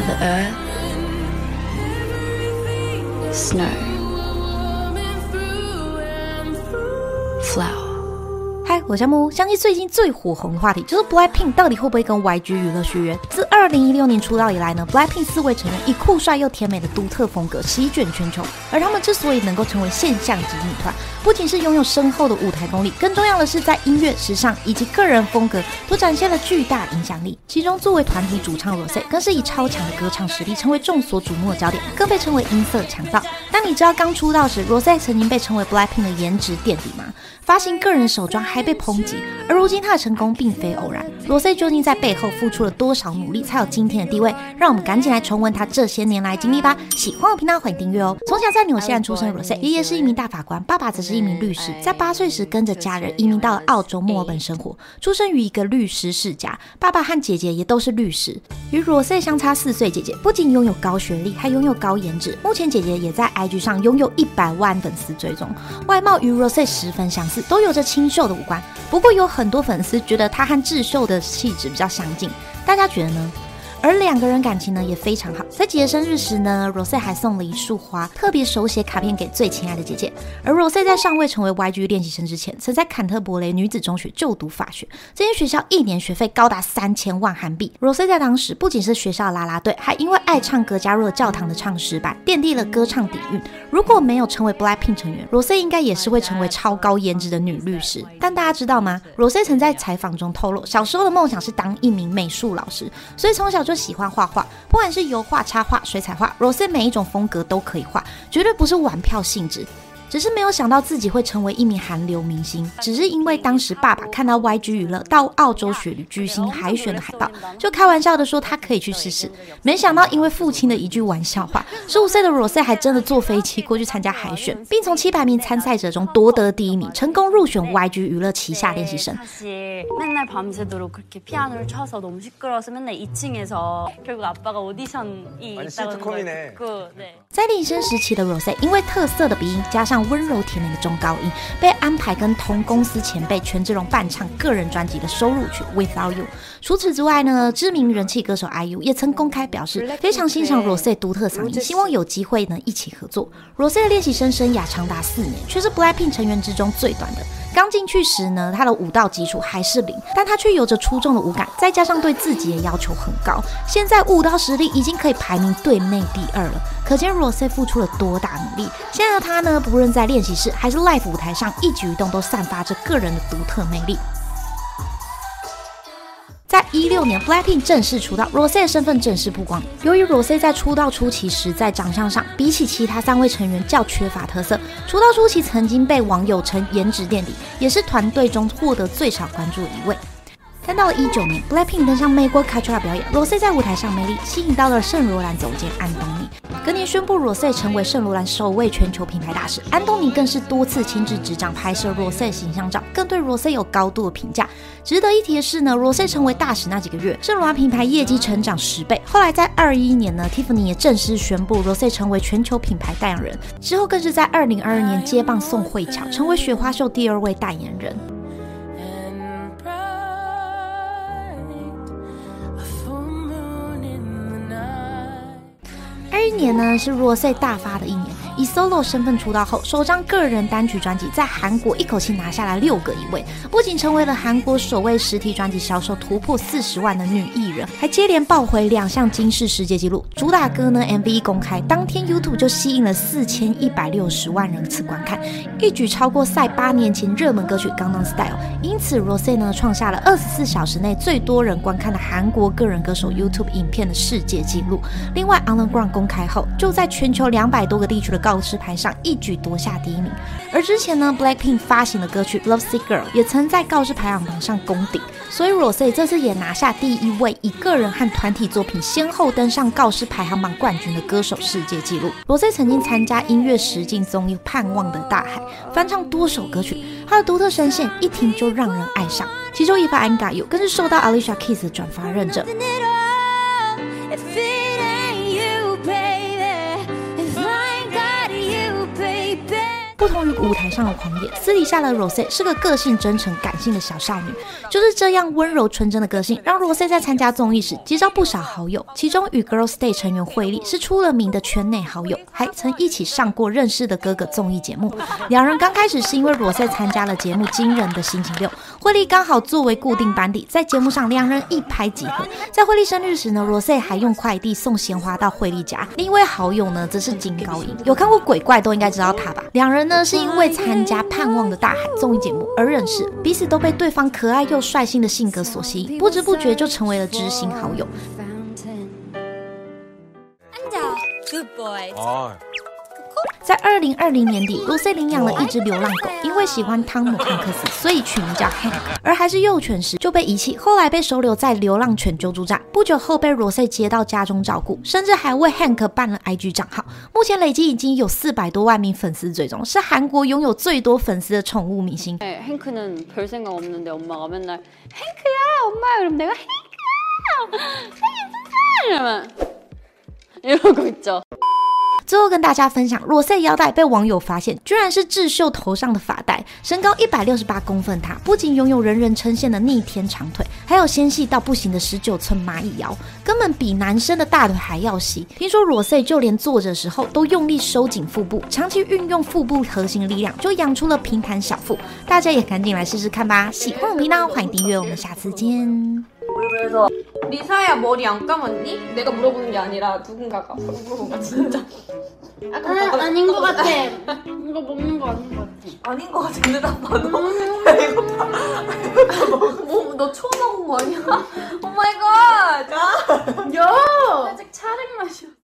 the earth, snow, flower。 嗨，我是木。相信最近最火红的话题就是 BLACKPINK 到底会不会跟 YG 娱乐续约？自2016年出道以来呢 ，BLACKPINK 4位成员以酷帅又甜美的独特风格席卷全球。而他们之所以能够成为现象级女团，不仅是拥有深厚的舞台功力，更重要的是在音乐、时尚以及个人风格都展现了巨大影响力。其中，作为团体主唱 Rosé 更是以超强的歌唱实力成为众所瞩目的焦点，更被称为音色强盗。但你知道刚出道时 Rosé 曾经被称为 BLACKPINK 的颜值垫底吗？发行个人手装还被抨击，而如今他的成功并非偶然。Rosé 究竟在背后付出了多少努力，才有今天的地位？让我们赶紧来重温他这些年来经历吧。喜欢我频道欢迎订阅哦。从小在纽西兰出生的 Rosé， 爷爷是一名大法官，爸爸则是一名律师。在8岁时跟着家人移民到了澳洲墨尔本生活，出生于一个律师世家，爸爸和姐姐也都是律师。与 Rosé 相差4岁，姐姐不仅拥有高学历，还拥有高颜值。目前姐姐也在 IG 上拥有100万粉丝追踪，外貌与 Rosé 十分相似，都有着清秀的五官。不过有很多粉丝觉得她和智秀的气质比较相近，大家觉得呢？而两个人感情呢也非常好，在姐姐生日时呢 ，Rosé 还送了一束花，特别手写卡片给最亲爱的姐姐。而 Rosé 在尚未成为 YG 练习生之前，曾在坎特伯雷女子中学就读法学，这间学校1年学费高达3000万韩币。Rosé 在当时不仅是学校的啦啦队，还因为爱唱歌加入了教堂的唱诗班，奠定了歌唱底蕴。如果没有成为 BLACKPINK 成员 ，Rosé 应该也是会成为超高颜值的女律师。但大家知道吗 ？Rosé 曾在采访中透露，小时候的梦想是当一名美术老师，所以从小就喜欢画画，不管是油画、插画、水彩画 ，Rosé 每一种风格都可以画，绝对不是玩票性质。只是没有想到自己会成为一名韩流明星，只是因为当时爸爸看到 YG 娱乐到澳洲雪梨举行海选的海报，就开玩笑的说他可以去试试。没想到因为父亲的一句玩笑话，15岁的 Rosé 还真的坐飛機过去参加海选，并从700名参赛者中夺得第1名，成功入选 YG 娱乐旗下练习生。 맨날 밤새도록 그렇게 피아노를 쳐서 너무 시끄러워서 맨날 2층에서 결국 아빠가 오디션이 있다는 걸 듣고 네. 在练习生时期的 Rosé 因为特色的鼻音加上温柔甜美的中高音，被安排跟同公司前辈权志龙伴唱个人专辑的收录曲 Without You。 除此之外呢，知名人气歌手 IU 也曾公开表示非常欣赏 Rosé 独特嗓音，希望有机会呢一起合作。 Rosé 的练习生生涯长达4年，却是 BLACKPINK 成员之中最短的。刚进去时呢，他的舞蹈基础还是0，但他却有着出众的舞感，再加上对自己的要求很高，现在舞蹈实力已经可以排名队内第2了，可见 Rosé 付出了多大努力。现在的他呢，不论在练习室还是 live 舞台上，一举一动都散发着个人的独特魅力。在16年 BLACKPINK 正式出道 ，Rosé 的身份正式曝光。由于 Rosé 在出道初期时在长相上比起其他3位成员较缺乏特色，出道初期曾经被网友称颜值垫底，也是团队中获得最少关注的一位。但到了19年 ，BLACKPINK 登上美国 Coachella 表演 ，Rosé 在舞台上魅力吸引到了圣罗兰总监安东尼。隔年宣布 Rosé 成为圣罗兰首位全球品牌大使，安东尼更是多次亲自执掌拍摄 Rosé 形象照，更对 Rosé 有高度的评价。值得一提的是呢 ，Rosé 成为大使那几个月，圣罗兰品牌业绩成长10倍。后来在21年呢 ，Tiffany 也正式宣布 Rosé 成为全球品牌代言人，之后更是在2022年接棒宋慧乔，成为雪花秀第2位代言人。21年呢是 Rosé 大发的一年，以 solo 身份出道后，首张个人单曲专辑在韩国一口气拿下了6个1位，不仅成为了韩国首位实体专辑销售突破40万的女艺人，还接连爆回2项金氏世界纪录。主打歌呢 MV 一公开，当天 YouTube 就吸引了4160万人次观看，一举超过赛8年前热门歌曲《Gangnam Style》，因此 Rosé 呢创下了24小时内最多人观看的韩国个人歌手 YouTube 影片的世界纪录。另外 Underground 公开后，就在全球200多个地区的告示牌上一举夺下第1名。而之前呢 ，BLACKPINK 发行的歌曲《Lovesick Girl》也曾在告示排行榜上攻顶，所以 Rosé 这次也拿下第1位以个人和团体作品先后登上告示排行榜冠军的歌手世界纪录。Rosé 曾经参加音乐实境综艺《盼望的大海》，翻唱多首歌曲，他的独特声线一听就让人爱上，其中一发 I'm Got You 更是受到 Alicia Keys 的转发认证。不同忠于舞台上的狂野，私底下的 Rosé 是个个性真诚、感性的小少女。就是这样温柔纯真的个性，让 Rosé 在参加综艺时结交不少好友，其中与 Girls' Day 成员惠利是出了名的圈内好友，还曾一起上过《认识的哥哥》综艺节目。两人刚开始是因为 Rosé 参加了节目《惊人的星期六》，惠利刚好作为固定班底，在节目上两人一拍即合。在惠利生日时呢 ，Rosé 还用快递送鲜花到惠利家。另一位好友呢，则是金高银，有看过鬼怪都应该知道他吧？两人呢是因为参加《盼望的大海》综艺节目而认识，彼此都被对方可爱又率性的性格所吸引，不知不觉就成为了知心好友。 Good boy. 在2020年底 ，Rosé 领养了一只流浪狗，因为喜欢汤姆汉克斯，所以取名叫 Hank。而还是幼犬时就被遗弃，后来被收留在流浪犬救助站。不久后被 Rosé 接到家中照顾，甚至还为 Hank 办了 IG 账号。目前累计已经有400多万名粉丝追踪，是韓國拥有最多粉丝的宠物明星。 행크는 별 생각 없는데 엄마가 맨날 행크야 엄마 그럼 내가 행크야 이러고 있죠. 最后跟大家分享 Rosé 腰带被网友发现居然是智秀头上的发带，身高168公分他不仅拥有人人称羡的逆天长腿，还有纤细到不行的19寸蚂蚁腰，根本比男生的大腿还要细。听说 Rosé 就连坐着时候都用力收紧腹部，长期运用腹部核心力量，就养出了平坦小腹。大家也赶紧来试试看吧！喜欢我频道欢迎订阅，我们下次见。 그래서 리사야 머리 안 감았니? 내가 물어보는 게 아니라 누군가가 물어본 거야 진짜. 아닌 것 같아. 이거 먹는 거 아닌 것 같아. 아닌 거 같은데 나 봐도. 이거 봐. 뭐, 너 처음 먹은 거 아니야? 오 마이 갓. 야. 아직 차림 맛이야.